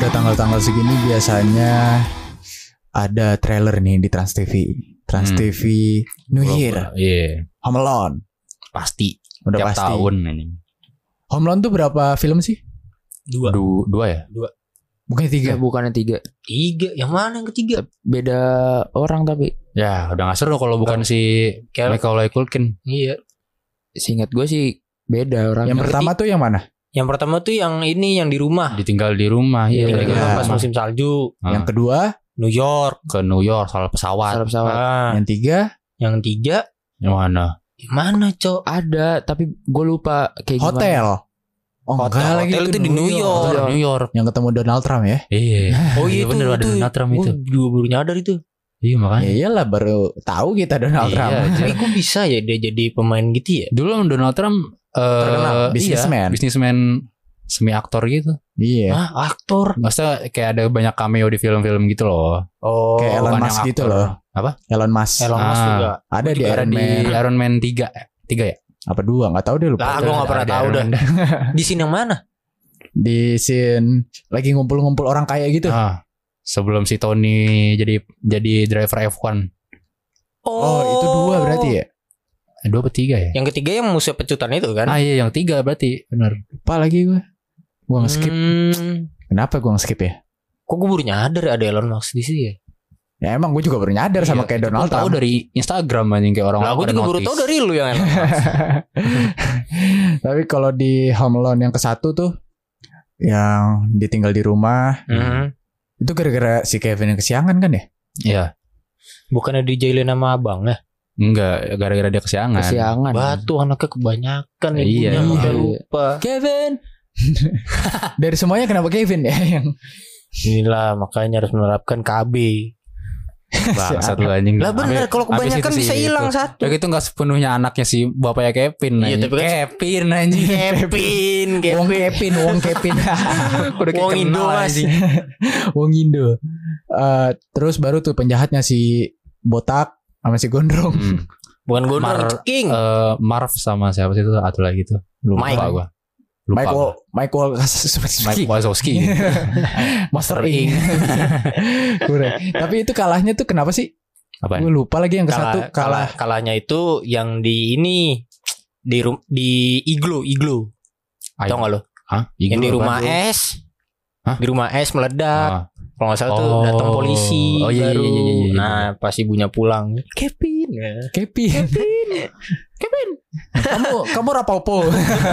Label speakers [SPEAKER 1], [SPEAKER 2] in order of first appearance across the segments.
[SPEAKER 1] udah tanggal-tanggal segini biasanya ada trailer nih di Trans TV. Trans TV New Year.
[SPEAKER 2] Iya.
[SPEAKER 1] Home Alone.
[SPEAKER 2] Pasti.
[SPEAKER 1] Udah
[SPEAKER 2] Tiap
[SPEAKER 1] pasti.
[SPEAKER 2] tahun ini.
[SPEAKER 1] Home Alone tuh berapa film sih?
[SPEAKER 2] Dua ya?
[SPEAKER 1] Bukan 3.
[SPEAKER 3] Bukannya 3.
[SPEAKER 4] 3. Yang mana yang ketiga?
[SPEAKER 3] Beda orang tapi.
[SPEAKER 2] Ya udah gak seru kalau bukan si Macaulay Culkin.
[SPEAKER 4] Iya.
[SPEAKER 3] Seingat gue sih beda orang.
[SPEAKER 1] Yang pertama tuh yang mana?
[SPEAKER 4] Yang pertama tuh yang ini yang di rumah.
[SPEAKER 2] Ditinggal di rumah.
[SPEAKER 4] Iya,
[SPEAKER 2] Iya.
[SPEAKER 1] Iya.
[SPEAKER 4] pas musim salju.
[SPEAKER 1] Yang kedua,
[SPEAKER 4] New York.
[SPEAKER 2] Ke New York soal pesawat.
[SPEAKER 3] Salah pesawat.
[SPEAKER 4] Ah,
[SPEAKER 1] yang 3,
[SPEAKER 4] yang 3
[SPEAKER 2] Yang mana?
[SPEAKER 4] yang mana, Cok?
[SPEAKER 3] Ada tapi gue lupa kayak gimana.
[SPEAKER 1] hotel. Oh, enggak lagi
[SPEAKER 4] Hotel itu di New York.
[SPEAKER 2] New York.
[SPEAKER 1] Yang ketemu Donald Trump ya?
[SPEAKER 2] Iya.
[SPEAKER 4] Oh iya
[SPEAKER 2] bener ada Donald Trump itu.
[SPEAKER 4] Gue juga baru nyadar itu.
[SPEAKER 2] Iya makanya.
[SPEAKER 1] Ya iyalah baru tahu kita Donald
[SPEAKER 2] Iya,
[SPEAKER 1] Trump.
[SPEAKER 4] Tapi kok bisa ya dia jadi pemain gitu ya?
[SPEAKER 2] Dulu Donald Trump
[SPEAKER 1] Terkenal, businessman.
[SPEAKER 2] Iya, businessman semi aktor gitu.
[SPEAKER 1] Iya.
[SPEAKER 4] Ah, aktor.
[SPEAKER 2] Maksudnya kayak ada banyak cameo di film-film gitu loh.
[SPEAKER 4] Oh,
[SPEAKER 1] Kayak Elon
[SPEAKER 2] bukan
[SPEAKER 1] Musk
[SPEAKER 2] yang
[SPEAKER 1] gitu
[SPEAKER 2] aktor.
[SPEAKER 1] loh.
[SPEAKER 2] Apa?
[SPEAKER 1] Elon Musk.
[SPEAKER 4] Elon Musk juga.
[SPEAKER 1] Ada di
[SPEAKER 2] Ada
[SPEAKER 1] Iron
[SPEAKER 2] di
[SPEAKER 1] Man.
[SPEAKER 2] Iron Man 3. 3 ya?
[SPEAKER 1] Apa 2? Enggak tahu deh lupa.
[SPEAKER 4] Lah, gue gak pernah
[SPEAKER 2] Ada
[SPEAKER 4] tahu
[SPEAKER 2] Iron
[SPEAKER 4] dah.
[SPEAKER 2] Man.
[SPEAKER 4] Di sini yang mana?
[SPEAKER 1] Di scene lagi ngumpul-ngumpul orang kaya gitu.
[SPEAKER 2] Sebelum si Tony jadi driver F1.
[SPEAKER 1] Oh, itu 2 berarti ya?
[SPEAKER 2] 2 atau 3 ya?
[SPEAKER 4] Yang ketiga yang musuh pecutan itu kan?
[SPEAKER 2] Iya yang 3 berarti. Benar.
[SPEAKER 1] Lupa lagi gue. Gue nge-skip. Kenapa gue nge-skip ya?
[SPEAKER 4] Kok gue baru nyadar ada Elon Musk di sini ya?
[SPEAKER 1] Ya emang gue juga baru nyadar sama kayak Donald
[SPEAKER 2] tahu
[SPEAKER 1] Trump.
[SPEAKER 2] dari Instagram anjing kayak orang-orang.
[SPEAKER 4] Lah, gue juga baru tahu dari lu yang Elon Musk.
[SPEAKER 1] Tapi kalau di Home Alone yang ke-1 tuh yang ditinggal di rumah, itu gara-gara si Kevin yang kesiangan kan ya?
[SPEAKER 2] Iya.
[SPEAKER 4] Bukannya dijailin sama abang ya?
[SPEAKER 2] Enggak, gara-gara dia kesiangan.
[SPEAKER 3] Kesiangan.
[SPEAKER 4] Batu anaknya kebanyakan
[SPEAKER 2] Iya,
[SPEAKER 4] ibunya udah
[SPEAKER 3] iya.
[SPEAKER 4] lupa.
[SPEAKER 1] Kevin. Dari semuanya kenapa Kevin ya yang
[SPEAKER 4] Inilah makanya harus menerapkan KB.
[SPEAKER 2] Bangsat lu anjing.
[SPEAKER 4] Lah bener, kalau kebanyakan bisa hilang satu.
[SPEAKER 2] Ya itu enggak sepenuhnya anaknya si bapaknya Kevin.
[SPEAKER 4] Iya,
[SPEAKER 2] anjing.
[SPEAKER 4] tapi kan-
[SPEAKER 2] Kevin anjing.
[SPEAKER 4] Kevin,
[SPEAKER 1] Wong Kevin, Wong Kevin.
[SPEAKER 2] Udah
[SPEAKER 4] Wong
[SPEAKER 2] kayak
[SPEAKER 4] Indo,
[SPEAKER 2] kenal,
[SPEAKER 4] Mas.
[SPEAKER 2] anjing.
[SPEAKER 1] Wong Indo. Terus baru tuh penjahatnya si botak sama si gondrong.
[SPEAKER 4] Bukan Gondrong,
[SPEAKER 2] Mar-
[SPEAKER 4] King.
[SPEAKER 2] Marv sama siapa sih itu atau lagi tuh?
[SPEAKER 4] Mike.
[SPEAKER 2] Lupa gua. Lupa.
[SPEAKER 1] Michael
[SPEAKER 2] Mike Wazowski.
[SPEAKER 1] Master Ing. Kurang. Tapi itu kalahnya tuh kenapa sih?
[SPEAKER 2] Apa?
[SPEAKER 1] Gue lupa lagi yang ke-1 kalah.
[SPEAKER 4] Kalahnya itu yang di ini di iglo. Tahu enggak lo?
[SPEAKER 2] Hah?
[SPEAKER 4] Yang di
[SPEAKER 2] Iglo
[SPEAKER 4] rumah
[SPEAKER 2] apa?
[SPEAKER 4] es.
[SPEAKER 2] Hah?
[SPEAKER 4] Di rumah es meledak.
[SPEAKER 2] Ah.
[SPEAKER 4] Kalau nggak salah tuh
[SPEAKER 2] Oh.
[SPEAKER 4] datang polisi
[SPEAKER 2] Oh, iya,
[SPEAKER 4] baru.
[SPEAKER 2] iya, iya, iya.
[SPEAKER 4] Nah, pas ibunya pulang, Kevin.
[SPEAKER 1] Kevin. Kamu rapopo.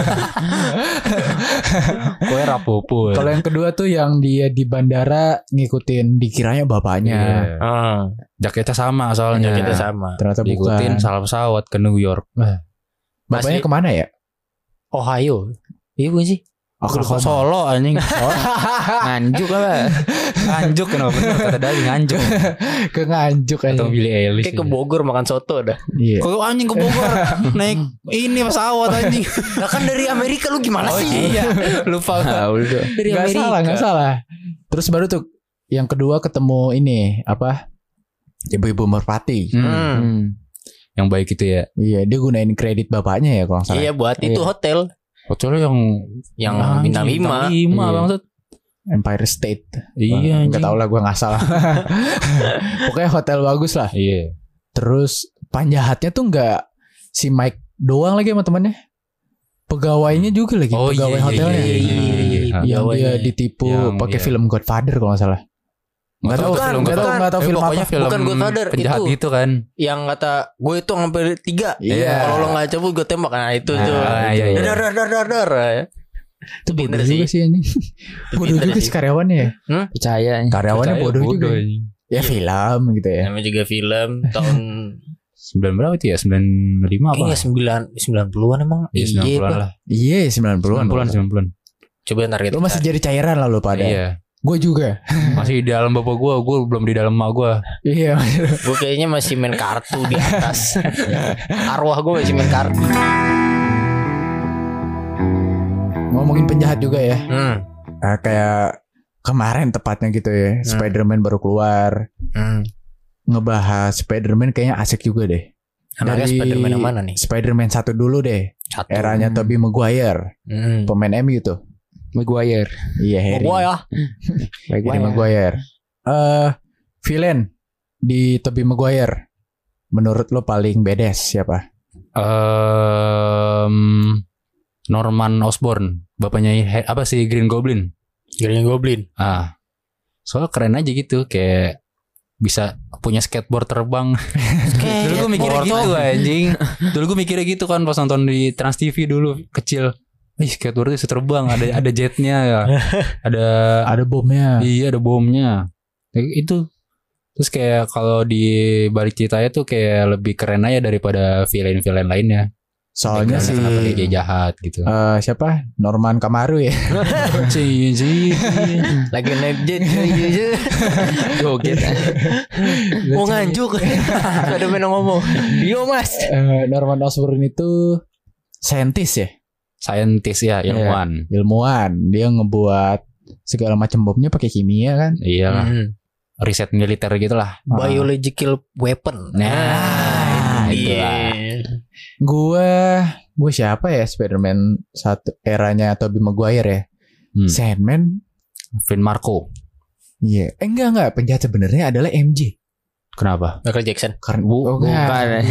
[SPEAKER 2] Kowe rapopo.
[SPEAKER 1] Kalau yang kedua tuh yang dia di bandara ngikutin dikiranya bapaknya.
[SPEAKER 2] Iya.
[SPEAKER 4] Ah,
[SPEAKER 2] Jaketnya sama soalnya.
[SPEAKER 4] kita sama.
[SPEAKER 1] Ternyata
[SPEAKER 2] Diikutin
[SPEAKER 1] bukan.
[SPEAKER 2] salah pesawat ke New York.
[SPEAKER 1] Bapaknya
[SPEAKER 4] Masih-
[SPEAKER 1] kemana ya?
[SPEAKER 4] Ohio. Iya bukan sih?
[SPEAKER 2] Ke Solo anjing.
[SPEAKER 3] Nganjuk lah.
[SPEAKER 2] Nganjuk kenapa bener kata Dali nganjuk.
[SPEAKER 1] Ke Nganjuk aja.
[SPEAKER 2] Atau Billy Eilish.
[SPEAKER 4] Kayak ke Bogor makan soto dah.
[SPEAKER 1] Iya.
[SPEAKER 2] Kok anjing ke Bogor naik ini pesawat anjing.
[SPEAKER 4] Lah kan dari Amerika lu gimana sih?
[SPEAKER 2] Iya, lupa.
[SPEAKER 4] Dari
[SPEAKER 1] Gak
[SPEAKER 4] Amerika.
[SPEAKER 1] salah, gak salah. Terus baru tuh yang kedua ketemu ini apa? Ibu-ibu merpati.
[SPEAKER 2] Yang baik itu ya.
[SPEAKER 1] Iya, dia gunain kredit bapaknya ya kalau nggak salah.
[SPEAKER 4] Iya buat itu hotel
[SPEAKER 2] Hotelnya yang
[SPEAKER 4] bintang 5.
[SPEAKER 2] 5
[SPEAKER 1] Iya.
[SPEAKER 2] bangsat.
[SPEAKER 1] Empire State.
[SPEAKER 2] Iya
[SPEAKER 1] Enggak
[SPEAKER 2] anjing.
[SPEAKER 1] tahu lah, gue nggak salah. Pokoknya hotel bagus lah.
[SPEAKER 2] Iya.
[SPEAKER 1] Terus penjahatnya tuh nggak si Mike doang lagi sama temannya. Pegawainya juga lagi,
[SPEAKER 2] Oh,
[SPEAKER 1] pegawai
[SPEAKER 2] iya,
[SPEAKER 1] hotelnya.
[SPEAKER 2] iya, iya, iya, iya.
[SPEAKER 1] Yang
[SPEAKER 4] Pegawainya.
[SPEAKER 1] dia ditipu
[SPEAKER 2] Yang-
[SPEAKER 1] pakai
[SPEAKER 2] iya.
[SPEAKER 1] film Godfather kalau nggak salah. Nggak tahu
[SPEAKER 4] Bukan,
[SPEAKER 1] film, nggak tahu
[SPEAKER 2] Tapi
[SPEAKER 1] film
[SPEAKER 2] pokoknya
[SPEAKER 1] apa.
[SPEAKER 2] film
[SPEAKER 4] Bukan Godfather,
[SPEAKER 2] penjahat
[SPEAKER 4] itu.
[SPEAKER 2] gitu kan.
[SPEAKER 4] Yang kata gue itu sampai 3.
[SPEAKER 1] Iya.
[SPEAKER 4] Kalau lo nggak cabut gue tembak. Nah itu tuh.
[SPEAKER 2] iya, iya.
[SPEAKER 4] Dar.
[SPEAKER 1] Itu bodoh
[SPEAKER 4] Pinter
[SPEAKER 1] juga sih ini. Bodoh
[SPEAKER 4] Pinter
[SPEAKER 1] juga
[SPEAKER 4] sih.
[SPEAKER 1] sih karyawannya ya.
[SPEAKER 3] Percaya.
[SPEAKER 1] Karyawannya
[SPEAKER 2] Percaya
[SPEAKER 1] bodoh juga.
[SPEAKER 2] anjing.
[SPEAKER 1] Ya film gitu ya.
[SPEAKER 4] Namanya juga film tahun
[SPEAKER 2] 9 berapa itu ya? 95 apa?
[SPEAKER 4] kayaknya 90-an emang.
[SPEAKER 2] Iya 90-an
[SPEAKER 4] Pak.
[SPEAKER 2] lah.
[SPEAKER 1] Iya 90-an.
[SPEAKER 2] 90-an.
[SPEAKER 4] Coba ntar kita
[SPEAKER 1] Lu masih
[SPEAKER 4] cari.
[SPEAKER 1] jadi cairan lah lu pada.
[SPEAKER 2] Iya.
[SPEAKER 1] Gue juga.
[SPEAKER 2] Masih di dalam bapak gue belum di dalam emak gue.
[SPEAKER 1] Iya.
[SPEAKER 4] Gue kayaknya masih main kartu di atas. Arwah gue masih main kartu.
[SPEAKER 1] Ngomongin penjahat juga ya.
[SPEAKER 4] Hmm.
[SPEAKER 1] Kayak kemarin tepatnya gitu ya. Spider-Man baru keluar. Ngebahas Spider-Man kayaknya asik juga deh.
[SPEAKER 4] Anaknya
[SPEAKER 1] Dari
[SPEAKER 4] Spider-Man yang mana nih?
[SPEAKER 1] Spider-Man 1 dulu deh.
[SPEAKER 4] Satu.
[SPEAKER 1] Eranya Tobey Maguire. Pemain MU tuh.
[SPEAKER 3] Maguire.
[SPEAKER 1] Iya, Harry.
[SPEAKER 4] Gua ya.
[SPEAKER 1] Harry Maguire. Villain di Tobey Maguire. Menurut lo paling badass siapa?
[SPEAKER 2] Norman Osborn, bapaknya apa sih Green Goblin. Soalnya keren aja gitu, kayak bisa punya skateboard terbang. Dulu gue mikirnya gitu anjing. Dulu gue mikirnya gitu kan pas nonton di Trans TV dulu kecil. Skateboard itu bisa terbang, ada jetnya ya. Ada
[SPEAKER 1] bomnya.
[SPEAKER 2] Iya, ada bomnya. Itu. Terus kayak kalau di balik ceritanya tuh kayak lebih keren aja daripada villain-villain lainnya.
[SPEAKER 1] Soalnya sih
[SPEAKER 2] dia jahat gitu.
[SPEAKER 1] Siapa? Norman Kamaru ya.
[SPEAKER 4] Lagi naik jet.
[SPEAKER 3] Joget.
[SPEAKER 4] Mau nganjuk. Ada main ngomong. Yo Mas.
[SPEAKER 1] Norman Osborn itu saintis ya.
[SPEAKER 2] Saintis ya,
[SPEAKER 1] Ilmuwan. Dia ngebuat segala macam bomnya pakai kimia kan.
[SPEAKER 2] Iya lah. Riset militer gitu lah.
[SPEAKER 4] Biological weapon.
[SPEAKER 2] Nah, itulah.
[SPEAKER 1] Gue siapa ya Spider-Man satu eranya Tobey Maguire ya. Sandman,
[SPEAKER 2] Finn Marco.
[SPEAKER 1] Iya. Enggak. Penjahat sebenarnya adalah MJ.
[SPEAKER 2] Kenapa?
[SPEAKER 4] Michael Jackson.
[SPEAKER 1] Karena
[SPEAKER 3] Bukan.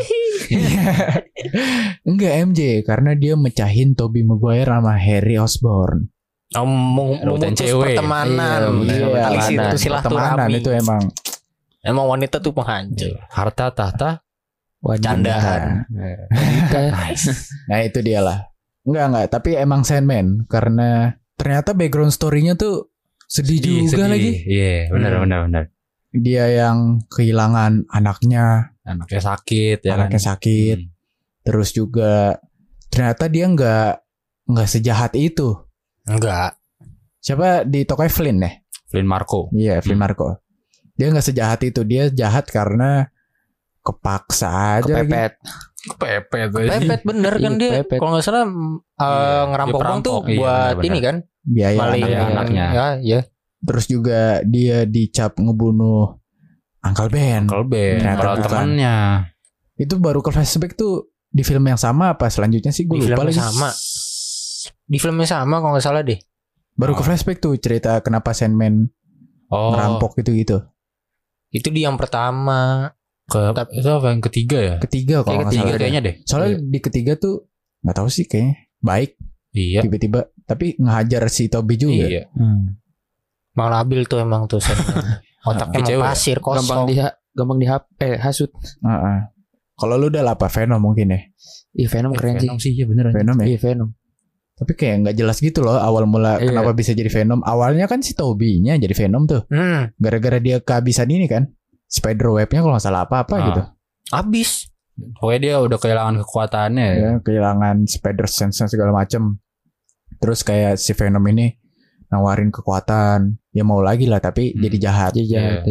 [SPEAKER 1] Enggak MJ karena dia mecahin Tobey Maguire sama Harry Osborn.
[SPEAKER 4] Memutus pertemanan.
[SPEAKER 1] Iya,
[SPEAKER 4] itu
[SPEAKER 1] silaturahmi. Itu
[SPEAKER 4] emang wanita tuh penghancur.
[SPEAKER 2] Harta tahta
[SPEAKER 4] candaan.
[SPEAKER 1] Nah itu dia lah. Enggak, tapi emang Sandman karena ternyata background story-nya tuh sedih juga lagi.
[SPEAKER 2] Iya, benar.
[SPEAKER 1] Dia yang kehilangan anaknya
[SPEAKER 2] sakit ya.
[SPEAKER 1] Anaknya sakit. Terus juga ternyata dia enggak sejahat itu.
[SPEAKER 4] Enggak.
[SPEAKER 1] Siapa di tokoh Flynn ya?
[SPEAKER 2] Flynn Marco.
[SPEAKER 1] Iya, Flynn Marco. Dia enggak sejahat itu. Dia jahat karena kepaksa aja.
[SPEAKER 4] Kepepet bener kan dia. Kalau nggak salah ngerampok bank tuh buat ini kan.
[SPEAKER 1] Biaya
[SPEAKER 4] anaknya. Ya.
[SPEAKER 1] Terus juga dia dicap ngebunuh Uncle Ben.
[SPEAKER 2] Kalau temannya.
[SPEAKER 1] Itu baru ke flashback tuh di film yang sama apa selanjutnya sih gue lupa lagi.
[SPEAKER 4] Di filmnya sama kalau nggak salah deh.
[SPEAKER 1] Baru ke flashback tuh cerita kenapa Sandman ngerampok gitu. Itu
[SPEAKER 4] di yang pertama.
[SPEAKER 2] Itu apa yang ketiga ya?
[SPEAKER 1] Ketiga kalau nggak salah
[SPEAKER 2] kayaknya deh.
[SPEAKER 1] Soalnya di ketiga tuh nggak tahu sih kayaknya baik.
[SPEAKER 2] Iya.
[SPEAKER 1] Tiba-tiba tapi ngehajar si Tobey juga.
[SPEAKER 2] Iya.
[SPEAKER 4] Bang labil tuh emang tuh Sandman. Otaknya mau pasir kosong.
[SPEAKER 3] Gampang hasut.
[SPEAKER 1] Kalau lu udah apa Venom mungkin ya?
[SPEAKER 3] Iya Venom keren sih.
[SPEAKER 2] Iya bener.
[SPEAKER 1] Venom ya.
[SPEAKER 3] Iya Venom.
[SPEAKER 1] Tapi kayak nggak jelas gitu loh awal mula kenapa bisa jadi Venom. Awalnya kan si Tobey-nya jadi Venom tuh. Gara-gara dia kehabisan ini kan. Spider web-nya kalau nggak salah apa-apa gitu.
[SPEAKER 4] Habis.
[SPEAKER 2] Pokoknya dia udah kehilangan kekuatannya.
[SPEAKER 1] Ya, kehilangan spider sense segala macem. Terus kayak si Venom ini nawarin kekuatan. Ya mau lagi lah tapi jadi jahat.
[SPEAKER 3] Iya.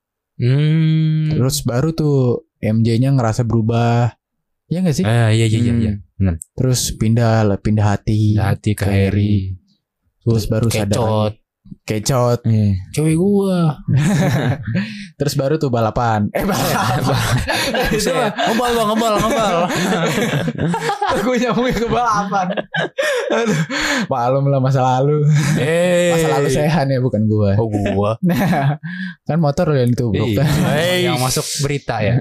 [SPEAKER 1] Terus baru tuh MJ-nya ngerasa berubah. Iya gak sih?
[SPEAKER 2] Iya. Benar.
[SPEAKER 1] Terus pindah hati
[SPEAKER 2] ke Harry.
[SPEAKER 1] Terus baru sadar kecot.
[SPEAKER 2] Cewek gua.
[SPEAKER 1] Terus baru tuh balapan.
[SPEAKER 2] Itu ngebal.
[SPEAKER 1] Gue nyambungin ke balapan. Aduh, malum lah masa lalu. Masa lalu sehan ya bukan gua.
[SPEAKER 2] Oh gua.
[SPEAKER 1] Nah, kan motor yang ditubruk.
[SPEAKER 2] Yang masuk berita ya.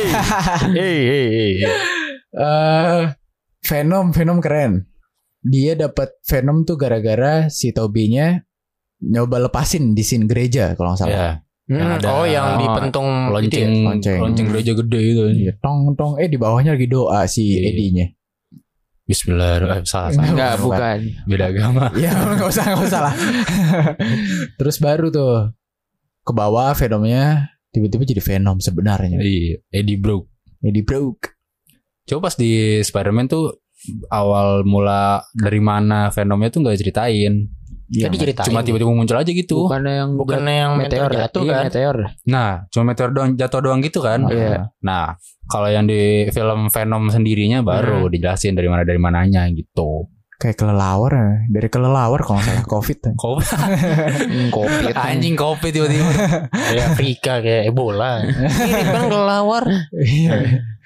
[SPEAKER 1] Venom keren. Dia dapat Venom tuh gara-gara si Tobey-nya nyoba lepasin di scene gereja kalau nggak salah.
[SPEAKER 4] Yang dipentung
[SPEAKER 2] lonceng gereja gede itu.
[SPEAKER 1] Iya, tong di bawahnya lagi doa si Eddie-nya.
[SPEAKER 2] Bismillah. Salah.
[SPEAKER 3] Enggak, bukan.
[SPEAKER 2] Beda agama.
[SPEAKER 1] Ya nggak usah lah. Terus baru tuh ke bawah Venomnya tiba-tiba jadi Venom sebenarnya.
[SPEAKER 2] Iya, Eddie Brock. Coba pas di Spider-Man tuh awal mula dari mana Venomnya tuh nggak ceritain.
[SPEAKER 4] Jadi diceritain.
[SPEAKER 2] Cuma tiba-tiba muncul aja gitu.
[SPEAKER 4] Bukannya yang meteor jatuh kan?
[SPEAKER 3] Meteor.
[SPEAKER 2] Nah, cuma meteor doang jatuh doang gitu kan?
[SPEAKER 3] Iya.
[SPEAKER 2] Nah, kalau yang di film Venom sendirinya baru dijelasin dari mananya gitu.
[SPEAKER 1] Kayak kelelawar, dari kelelawar kalau nggak salah COVID.
[SPEAKER 2] COVID. Anjing COVID tiba-tiba.
[SPEAKER 4] Kayak Afrika kayak Ebola. Mirip kan kelelawar.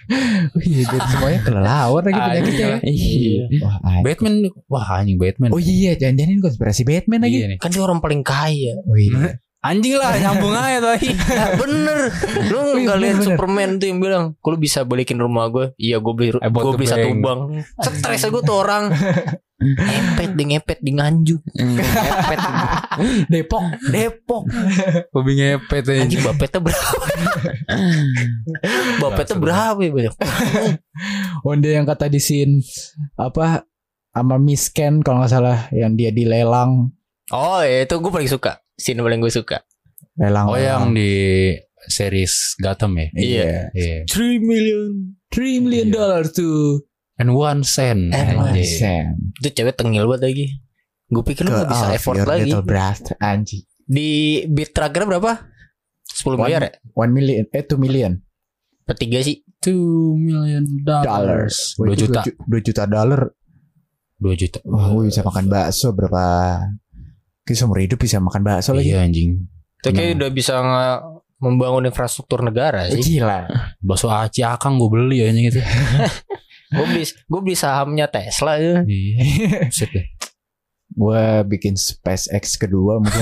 [SPEAKER 1] Oh iya, jadi semuanya kelelawar lagi penyakitnya.
[SPEAKER 3] Iya.
[SPEAKER 2] Batman, anjing Batman.
[SPEAKER 1] Oh iya, jangan-jangan konspirasi Batman lagi.
[SPEAKER 2] Iya nih.
[SPEAKER 4] Kan dia orang paling kaya.
[SPEAKER 1] Oh iya.
[SPEAKER 2] Anjing lah, nyambung aja tadi.
[SPEAKER 4] Bener. Lu nggak lihat Superman tuh yang bilang, "Kalau bisa balikin rumah gue?" Iya, gue beli satu bank. Stres gue tuh orang. ngepet di Nganjuk. Ngepet. Depok.
[SPEAKER 2] Hobi ngepet aja.
[SPEAKER 4] Anjing bapetnya berapa? Bapetnya berapa ya banyak.
[SPEAKER 1] Dia yang kata di scene apa sama Miss Ken kalau nggak salah yang dia dilelang.
[SPEAKER 4] Oh itu gue paling suka. Scene paling gue suka.
[SPEAKER 1] Lelang.
[SPEAKER 2] Yang di series Gotham ya.
[SPEAKER 1] Iya. $3 million tuh.
[SPEAKER 2] And 1 cent.
[SPEAKER 4] Itu cewek tengil banget lagi. Gue pikir lu gak bisa effort lagi.
[SPEAKER 1] Anjing.
[SPEAKER 4] Di beat trackernya berapa? 10 miliar ya?
[SPEAKER 1] 2 million.
[SPEAKER 4] Petiga sih.
[SPEAKER 2] $2 million. 2 juta.
[SPEAKER 1] $2
[SPEAKER 2] juta.
[SPEAKER 1] Oh, bisa makan bakso berapa? Kita seumur hidup bisa makan bakso lagi.
[SPEAKER 2] Iya anjing.
[SPEAKER 4] Itu kayak udah bisa membangun infrastruktur negara sih.
[SPEAKER 1] Gila.
[SPEAKER 2] Bakso Aci Akang gue beli ya gitu.
[SPEAKER 4] Gue beli sahamnya Tesla ya.
[SPEAKER 2] Iya. Sip deh.
[SPEAKER 1] Gue bikin SpaceX kedua mungkin.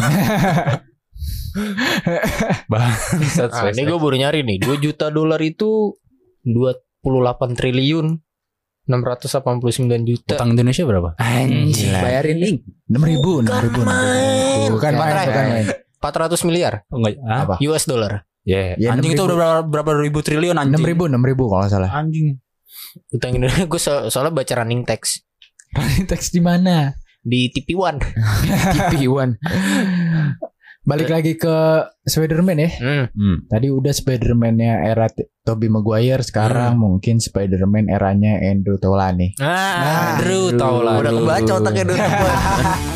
[SPEAKER 2] Bangsat.
[SPEAKER 4] Ini gue baru nyari nih. $2 juta itu 28 triliun 689 juta.
[SPEAKER 2] Utang Indonesia berapa?
[SPEAKER 3] Anjing, bayarin nih.
[SPEAKER 1] 6.000. Bukan main.
[SPEAKER 4] 400 miliar.
[SPEAKER 2] Oh, enggak.
[SPEAKER 1] Apa?
[SPEAKER 4] US dollar.
[SPEAKER 2] Ya, anjing itu udah berapa ribu triliun anjing.
[SPEAKER 1] 6.000 kalau nggak salah.
[SPEAKER 2] Anjing.
[SPEAKER 4] Utang Indonesia gue soalnya baca running text.
[SPEAKER 1] Running text di mana?
[SPEAKER 4] Di TV One.
[SPEAKER 3] TV One.
[SPEAKER 1] Balik lagi ke Spider-Man ya. Tadi udah Spider-Man-nya era Tobey Maguire, sekarang mungkin Spider-Man eranya Andrew Taulani.
[SPEAKER 4] Andrew Taulani. Udah kebaca otaknya Andrew Taulani.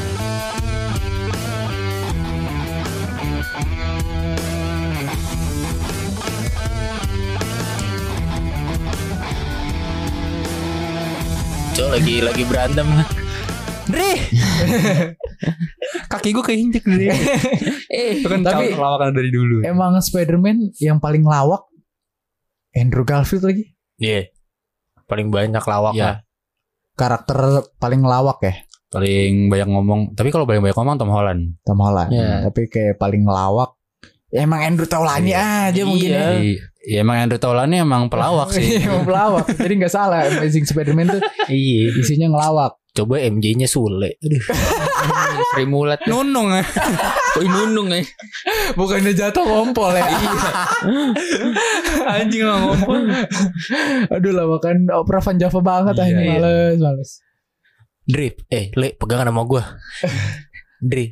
[SPEAKER 4] lagi berantem. Dre.
[SPEAKER 2] Kaki gue keinjek Dre. Itu kan
[SPEAKER 1] tapi
[SPEAKER 2] lawakan dari dulu.
[SPEAKER 1] Emang Spider-Man yang paling lawak Andrew Garfield lagi.
[SPEAKER 4] Iya. Paling banyak lawaknya.
[SPEAKER 1] Karakter paling lawak ya.
[SPEAKER 2] Paling banyak ngomong. Tapi kalau paling banyak ngomong Tom Holland.
[SPEAKER 1] Tapi kayak paling lawak emang Andrew Taulani aja mungkin ya.
[SPEAKER 2] Ya emang Andrew Taulani emang pelawak sih.
[SPEAKER 1] Emang pelawak. Jadi gak salah Amazing Spider-Man tuh.
[SPEAKER 4] Iya.
[SPEAKER 1] Isinya ngelawak.
[SPEAKER 4] Coba MJ-nya Sule. Aduh.
[SPEAKER 3] Sri Mulat.
[SPEAKER 2] Nunung ya.
[SPEAKER 3] Nunung ya.
[SPEAKER 1] Bukannya jatuh ngompol ya.
[SPEAKER 2] Anjing lah ngompol.
[SPEAKER 1] Aduh lawakan Opera Van Java banget anjing. Males.
[SPEAKER 4] Dre, Le pegangan sama gue. Dre.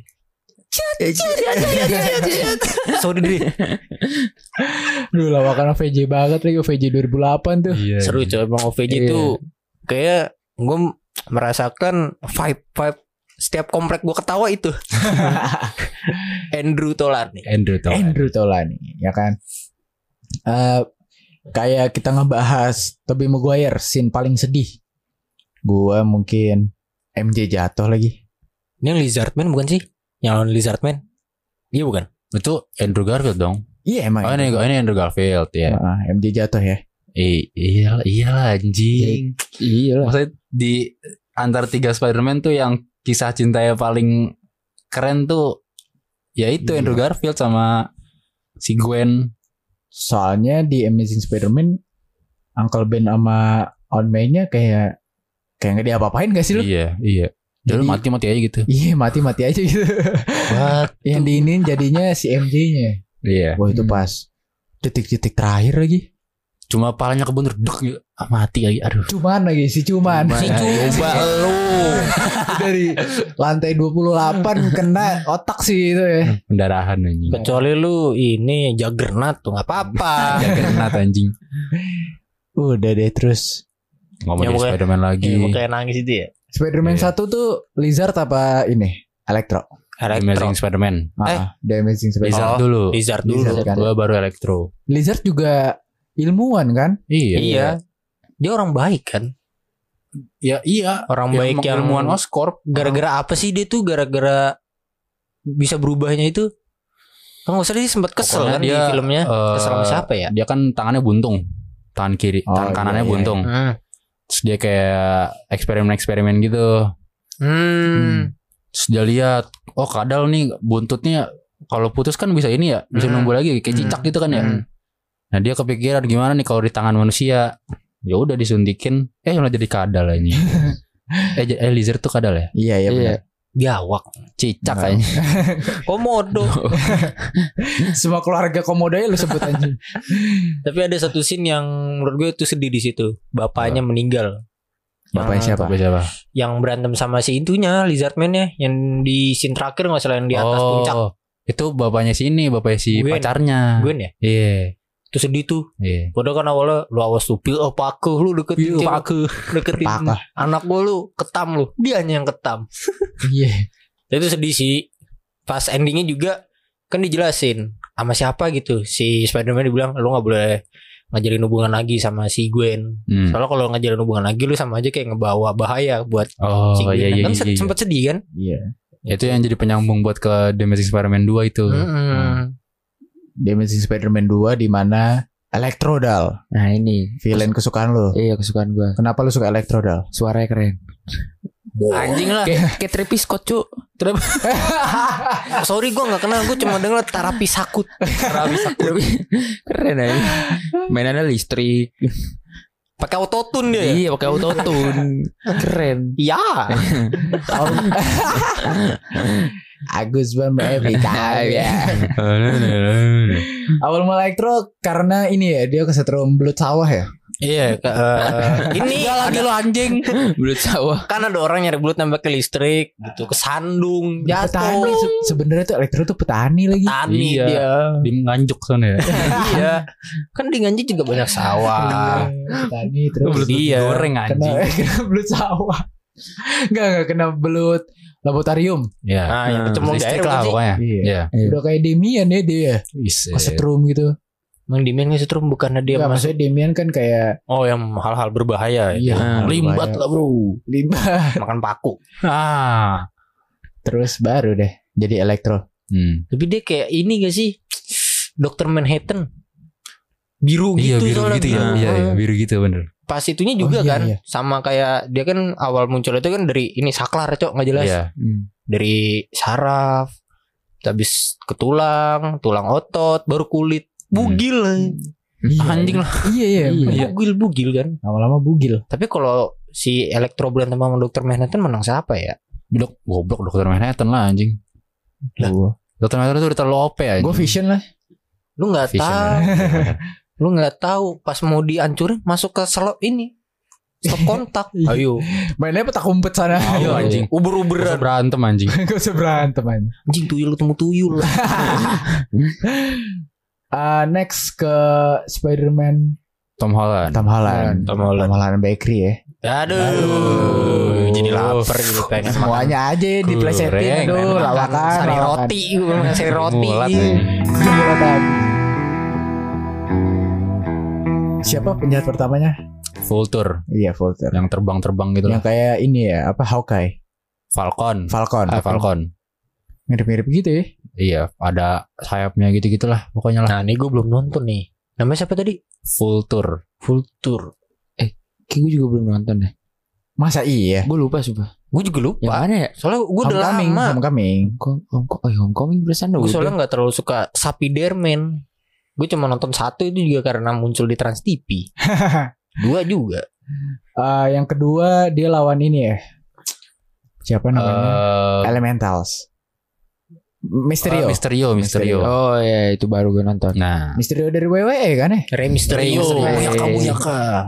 [SPEAKER 4] Sorry Dre.
[SPEAKER 1] Duh lawakan OVJ banget lagi. OVJ 2008 tuh.
[SPEAKER 4] Seru coy. Emang OVJ tuh kayak gue merasakan vibe setiap komplek gue ketawa itu. Andrew Taulani ya kan. Kayak kita ngebahas Tobey Maguire scene paling sedih. Gue mungkin MJ jatuh lagi. Ini yang Lizardman bukan sih? Yang lawan Lizardman? Iya bukan?
[SPEAKER 2] Itu Andrew Garfield dong.
[SPEAKER 1] Iya emang.
[SPEAKER 2] Oh ini Andrew Garfield ya.
[SPEAKER 1] MJ jatuh ya.
[SPEAKER 2] Iya anjing.
[SPEAKER 3] Iya.
[SPEAKER 2] Maksudnya di antara 3 Spider-Man tuh yang kisah cintanya paling keren tuh ya itu Andrew Garfield sama si Gwen.
[SPEAKER 1] Soalnya di Amazing Spider-Man Uncle Ben sama Aunt May-nya kayak nggak diapa-apain gak sih lu?
[SPEAKER 2] Iya. Jadi mati aja gitu.
[SPEAKER 1] Iya mati aja gitu. Yang diinin jadinya si MJ-nya.
[SPEAKER 2] Iya.
[SPEAKER 1] Wah itu pas detik-detik terakhir lagi.
[SPEAKER 2] Cuma palanya kebuntur duk mati lagi. Aduh.
[SPEAKER 1] Cuman lagi si Cuman
[SPEAKER 4] lu
[SPEAKER 1] dari lantai 28 kena otak sih itu ya.
[SPEAKER 2] Pendarahan anjing.
[SPEAKER 4] Kecuali lu ini Juggernaut tuh enggak apa-apa.
[SPEAKER 2] Juggernaut anjing.
[SPEAKER 1] Udah deh terus
[SPEAKER 2] ngomongin Spider-Man lagi.
[SPEAKER 4] Ya, kayak nangis itu ya.
[SPEAKER 1] Spider-Man 1 tuh Lizard apa ini? Electro.
[SPEAKER 2] Amazing Spider-Man.
[SPEAKER 1] The Amazing Spider-Man.
[SPEAKER 4] Lizard dulu.
[SPEAKER 1] Kan?
[SPEAKER 2] Baru Electro.
[SPEAKER 1] Lizard juga ilmuwan kan?
[SPEAKER 4] Iya. Dia orang baik kan?
[SPEAKER 2] Ya iya.
[SPEAKER 4] Orang baik yang
[SPEAKER 2] ilmuwan Oscorp.
[SPEAKER 4] Gara-gara apa sih dia tuh? Gara-gara bisa berubahnya itu? Kan nggak usah dia sempat kesel kan dia, di filmnya. Kesel sama siapa ya?
[SPEAKER 2] Dia kan tangannya buntung. tangan kanannya
[SPEAKER 1] iya.
[SPEAKER 2] buntung. Terus dia kayak eksperimen gitu. Terus dia lihat, oh kadal nih buntutnya kalau putus kan bisa ini ya, bisa numbuh lagi kayak cicak gitu kan ya. Nah dia kepikiran gimana nih kalau di tangan manusia. Ya udah disuntikin, malah jadi kadal ini. Lizard tuh kadal ya?
[SPEAKER 1] Iya benar.
[SPEAKER 3] Biawak.
[SPEAKER 2] Cicak kayaknya.
[SPEAKER 3] Komodo.
[SPEAKER 1] Semua keluarga komodo ya lu sebut anjing.
[SPEAKER 3] Tapi ada satu scene yang menurut gue itu sedih di situ. Bapaknya meninggal.
[SPEAKER 1] Bapaknya siapa?
[SPEAKER 3] Yang berantem sama si intunya, Lizardman-nya, yang di scene terakhir nggak salah yang di atas puncak.
[SPEAKER 2] Itu bapaknya si
[SPEAKER 3] Gwen.
[SPEAKER 2] pacarnya.
[SPEAKER 3] Gwen ya?
[SPEAKER 2] Iya.
[SPEAKER 3] Itu sedih tuh.
[SPEAKER 2] Iya.
[SPEAKER 3] Padahal kan awalnya lu awas tuh pil paku lu deketin deketin anak gua lu ketam lu. Dianya yang ketam.
[SPEAKER 1] Iya.
[SPEAKER 3] Itu sedih sih. Pas endingnya juga kan dijelasin sama siapa gitu. Si Spider-Man dibilang lu nggak boleh ngajalin hubungan lagi sama si Gwen. Soalnya kalau ngajalin hubungan lagi lu sama aja kayak ngebawa bahaya buat si Gwen. Kan sempet sedih kan?
[SPEAKER 1] Iya.
[SPEAKER 2] Itu yang jadi penyambung buat ke The Amazing Spider-Man 2 itu.
[SPEAKER 1] The Amazing Spider-Man 2 di mana Electro Dal.
[SPEAKER 4] Nah ini
[SPEAKER 1] villain kesukaan lu.
[SPEAKER 4] Iya kesukaan gua.
[SPEAKER 1] Kenapa lu suka Electro Dal?
[SPEAKER 4] Suaranya keren.
[SPEAKER 3] Anjing lah.
[SPEAKER 4] Kayak Travis Scott cu.
[SPEAKER 3] Sorry gue gak kenal. Gue cuma denger terapi sakut.
[SPEAKER 4] Keren aja. Mainannya listrik.
[SPEAKER 3] Pakai autotune dia.
[SPEAKER 4] Iya pakai autotune. Keren.
[SPEAKER 3] Iya.
[SPEAKER 1] Agus Bam every time ya. Awal mulai Electro karena ini ya dia kesetrum belut sawah ya.
[SPEAKER 3] Iya, ini lagi lo anjing.
[SPEAKER 4] Belut sawah.
[SPEAKER 3] Kan ada orang nyari belut nambah ke listrik gitu, kesandung, jatuh.
[SPEAKER 1] Sebenarnya tuh Electro tuh petani lagi.
[SPEAKER 3] Petani dia.
[SPEAKER 2] Di Nganjuk sana ya.
[SPEAKER 3] Iya. Kan di Nganjuk juga banyak sawah.
[SPEAKER 1] Petani terus
[SPEAKER 2] belut goreng anjing.
[SPEAKER 1] Kena belut sawah. Enggak kena belut laboratorium.
[SPEAKER 2] Ya.
[SPEAKER 3] Nah, yang kecemplung di air
[SPEAKER 2] lah pokoknya.
[SPEAKER 1] Iya. Udah kayak Demian ya dia. Kesetrum gitu.
[SPEAKER 3] Emang Demian kesetrum bukannya dia
[SPEAKER 1] maksudnya Demian kan kayak
[SPEAKER 3] yang hal-hal berbahaya.
[SPEAKER 1] Iya.
[SPEAKER 3] Limbat lah bro.
[SPEAKER 1] Limbat.
[SPEAKER 3] Makan paku.
[SPEAKER 1] Terus baru deh jadi Electro.
[SPEAKER 3] Tapi dia kayak ini gak sih? Dr. Manhattan. Biru gitu soalnya.
[SPEAKER 2] Iya, biru gitu bener.
[SPEAKER 3] Pas itunya juga sama kayak dia kan awal muncul itu kan dari ini saklar cok nggak jelas.
[SPEAKER 2] Iya.
[SPEAKER 3] Dari saraf, habis ke tulang otot, baru kulit, bugil. Anjing lah.
[SPEAKER 1] Iya.
[SPEAKER 3] Bugil kan.
[SPEAKER 1] Lama-lama bugil.
[SPEAKER 3] Tapi kalau si Electro berantem sama Dr. Manhattan menang siapa ya?
[SPEAKER 2] Goblok Dr. Manhattan lah anjing. Dr. Manhattan itu udah terlalu OP ya.
[SPEAKER 1] Gue Vision lah.
[SPEAKER 3] Lu nggak tahu. Lu nggak tahu pas mau dihancurin masuk ke slot ini. Stop kontak. Ayo.
[SPEAKER 1] Mainnya petak umpet sana.
[SPEAKER 2] Ayo anjing.
[SPEAKER 3] Uber-uberan.
[SPEAKER 2] Berantem anjing.
[SPEAKER 1] Gak usah berantem anjing.
[SPEAKER 3] Anjing tuyul ketemu tuyul.
[SPEAKER 1] Next ke Spider-Man
[SPEAKER 2] Tom Holland
[SPEAKER 1] Bakery ya.
[SPEAKER 3] Aduh. Jadi lapar gitu pengen
[SPEAKER 1] semuanya aja diplesetin. Aduh lawakan.
[SPEAKER 3] Sari roti. Sari roti.
[SPEAKER 1] Siapa penjahat pertamanya?
[SPEAKER 2] Vulture.
[SPEAKER 1] Iya Vulture.
[SPEAKER 2] Yang terbang-terbang gitu.
[SPEAKER 1] Yang kayak ini ya, apa Hawkeye?
[SPEAKER 2] Falcon.
[SPEAKER 1] Mirip-mirip gitu ya.
[SPEAKER 2] Iya, ada sayapnya gitu-gitulah pokoknya lah.
[SPEAKER 3] Nah, ini gue belum nonton nih. Namanya siapa tadi?
[SPEAKER 2] Vulture.
[SPEAKER 4] Kayak gue juga belum nonton deh.
[SPEAKER 1] Masa iya?
[SPEAKER 4] Gue lupa sumpah.
[SPEAKER 3] Gue juga lupa.
[SPEAKER 4] Yang mana ya?
[SPEAKER 3] Soalnya gue udah lama.
[SPEAKER 4] Homecoming bersama.
[SPEAKER 3] Gue soalnya gak terlalu suka Spider-Man. Gue cuma nonton satu itu juga karena muncul di Trans TV. 2 juga.
[SPEAKER 1] Yang kedua dia lawan ini ya. Siapa namanya? Elementals. Mysterio.
[SPEAKER 4] Oh ya itu baru gue nonton.
[SPEAKER 2] Nah,
[SPEAKER 1] Mysterio dari WWE kan ya?
[SPEAKER 3] Rey Mysterio. Buyaka.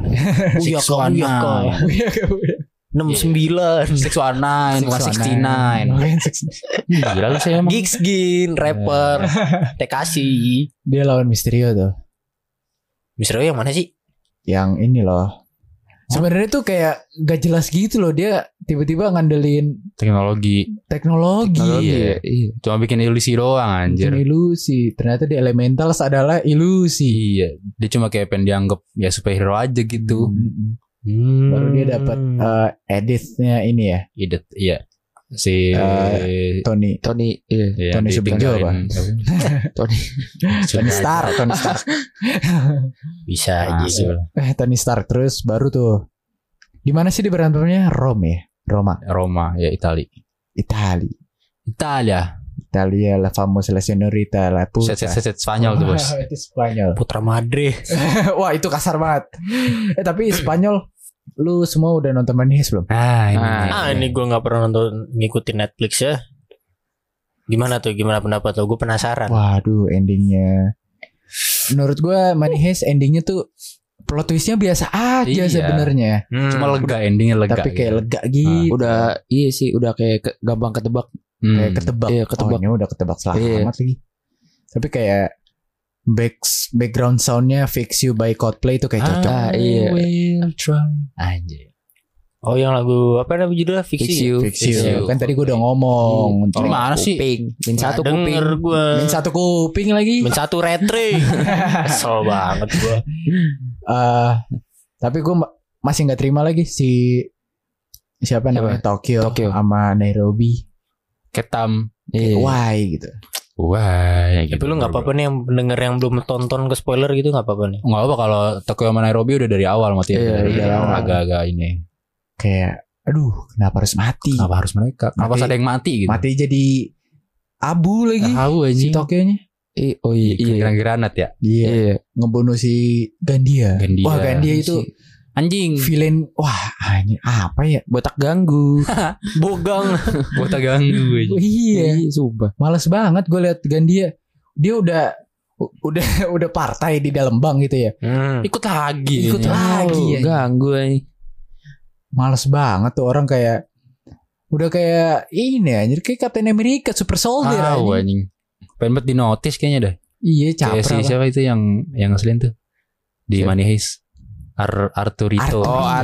[SPEAKER 3] 69
[SPEAKER 2] 619 169. Gila lu saya emang.
[SPEAKER 3] Giggskin rapper Tekashi.
[SPEAKER 1] Dia lawan Mysterio tuh.
[SPEAKER 3] Mysterio yang mana sih?
[SPEAKER 1] Yang ini loh. Sebenarnya tuh kayak gak jelas gitu loh. Dia tiba-tiba ngandelin
[SPEAKER 2] teknologi.
[SPEAKER 1] Iya.
[SPEAKER 2] Cuma bikin ilusi doang anjir.
[SPEAKER 1] Bikin ilusi. Ternyata di Elementals adalah ilusi.
[SPEAKER 2] Iya. Dia cuma kayak pengen dianggap ya superhero aja gitu.
[SPEAKER 1] Baru dia dapat editnya ini ya.
[SPEAKER 2] Iya. si
[SPEAKER 1] Tony
[SPEAKER 2] iya,
[SPEAKER 1] Tony Subinjo apa? Tony Stark.
[SPEAKER 3] Bisa aja.
[SPEAKER 1] Tony Stark terus baru tuh. Di mana sih di berantemnya? Roma
[SPEAKER 2] ya Italia
[SPEAKER 1] la famosa la señorita la puta.
[SPEAKER 2] Set Spanyol tuh bos.
[SPEAKER 1] Itu Spanyol.
[SPEAKER 3] Putra Madre.
[SPEAKER 1] Wah itu kasar banget. Tapi Spanyol lu semua udah nonton Money Heist belum?
[SPEAKER 3] Ini gue nggak pernah nonton ngikutin Netflix ya. Gimana pendapat lo? Gue penasaran.
[SPEAKER 1] Waduh endingnya. Menurut gue Money Heist endingnya tuh plot twistnya biasa aja sebenarnya.
[SPEAKER 2] Cuma endingnya lega.
[SPEAKER 1] Tapi kayak lega gitu.
[SPEAKER 4] Udah kayak gampang ketebak.
[SPEAKER 1] Kayak ketebak.
[SPEAKER 4] Iya, ketebak.
[SPEAKER 1] Oh, udah ketebak selamat lagi. Tapi kayak background soundnya Fix You by Coldplay itu kayak cocok.
[SPEAKER 2] Will try. Anjir.
[SPEAKER 3] Oh yang lagu apa namanya judulnya Fix You.
[SPEAKER 1] Kan tadi gue udah ngomong.
[SPEAKER 2] Gimana sih?
[SPEAKER 4] Min satu kuping.
[SPEAKER 1] Min satu kuping lagi.
[SPEAKER 3] Min satu retre. Kesel banget gue.
[SPEAKER 1] Tapi gue masih nggak terima lagi siapa namanya Tokyo sama Nairobi.
[SPEAKER 2] Ketam.
[SPEAKER 1] Why gitu.
[SPEAKER 2] Wah,
[SPEAKER 3] gitu. Tapi lu nggak apa-apa nih yang pendengar yang belum tonton ke spoiler gitu nggak apa-apa nih?
[SPEAKER 2] Nggak apa kalau Tokyo sama Nairobi udah dari awal mati.
[SPEAKER 1] Dari awal
[SPEAKER 2] agak-agak ini.
[SPEAKER 1] Kayak, aduh, kenapa harus mati?
[SPEAKER 2] Kenapa harus mereka? Kenapa ada yang mati gitu?
[SPEAKER 1] Mati jadi abu lagi.
[SPEAKER 2] Abu aja.
[SPEAKER 1] Si Tokyo-nya.
[SPEAKER 2] Iya. Granat ya.
[SPEAKER 1] Iya. Ngebunuh si Gandia. Wah Gandia itu
[SPEAKER 2] anjing.
[SPEAKER 1] Villain. Wah, ini apa ya?
[SPEAKER 4] Botak ganggu.
[SPEAKER 2] Botak ganggu aja.
[SPEAKER 1] Iya.
[SPEAKER 4] Sumpah.
[SPEAKER 1] Males banget gue liat Gandia. Dia udah partai di dalam bank gitu ya.
[SPEAKER 2] Ikut lagi.
[SPEAKER 1] Ganggu aja. Males banget tuh orang kayak udah kayak ini anjir kayak Captain America Super Soldier
[SPEAKER 2] anjing. Pengen banget di notice kayaknya dah.
[SPEAKER 1] Iya capra.
[SPEAKER 2] Siapa itu yang ngeselin tuh di Money Heist? Arturito.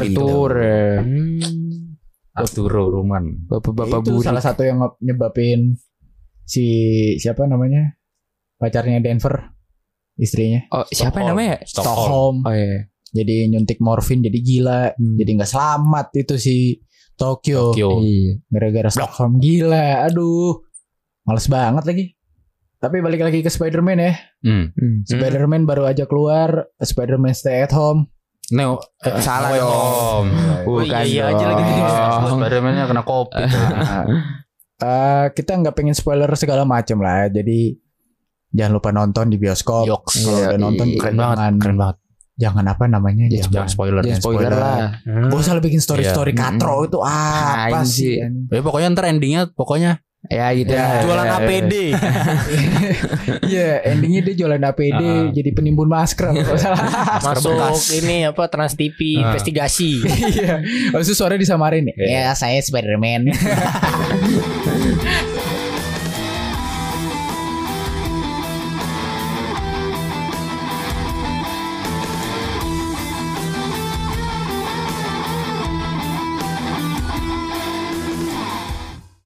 [SPEAKER 2] Arturo Roman.
[SPEAKER 1] Bapak-bapak itu salah satu yang nyebabin siapa namanya pacarnya Denver istrinya.
[SPEAKER 4] Siapa namanya?
[SPEAKER 1] Stockholm. Oh iya. Jadi nyuntik morfin jadi gila. Jadi gak selamat itu si Tokyo. Iya. Gara-gara Stockholm gila. Aduh. Males banget lagi. Tapi balik lagi ke Spider-Man ya. Spider-Man baru aja keluar. Spider-Man Stay at Home.
[SPEAKER 2] Salah dong.
[SPEAKER 3] Bukan iya aja lagi
[SPEAKER 2] Spider-Man-nya kena kopi.
[SPEAKER 1] Kita gak pengen spoiler segala macam lah. Jadi jangan lupa nonton di bioskop. Kalau udah nonton keren banget. Jangan apa namanya?
[SPEAKER 2] Jangan spoiler
[SPEAKER 1] lah. Gak usah bikin story katro itu apa sih?
[SPEAKER 2] Ya pokoknya ntar endingnya
[SPEAKER 1] ya gitu.
[SPEAKER 3] Jualan APD.
[SPEAKER 1] Iya, endingnya dia jualan APD jadi penimbun masker.
[SPEAKER 3] Masuk ini apa Trans TV investigasi.
[SPEAKER 1] Iya. Maksud suara disamarin. Ya saya Spider-Man.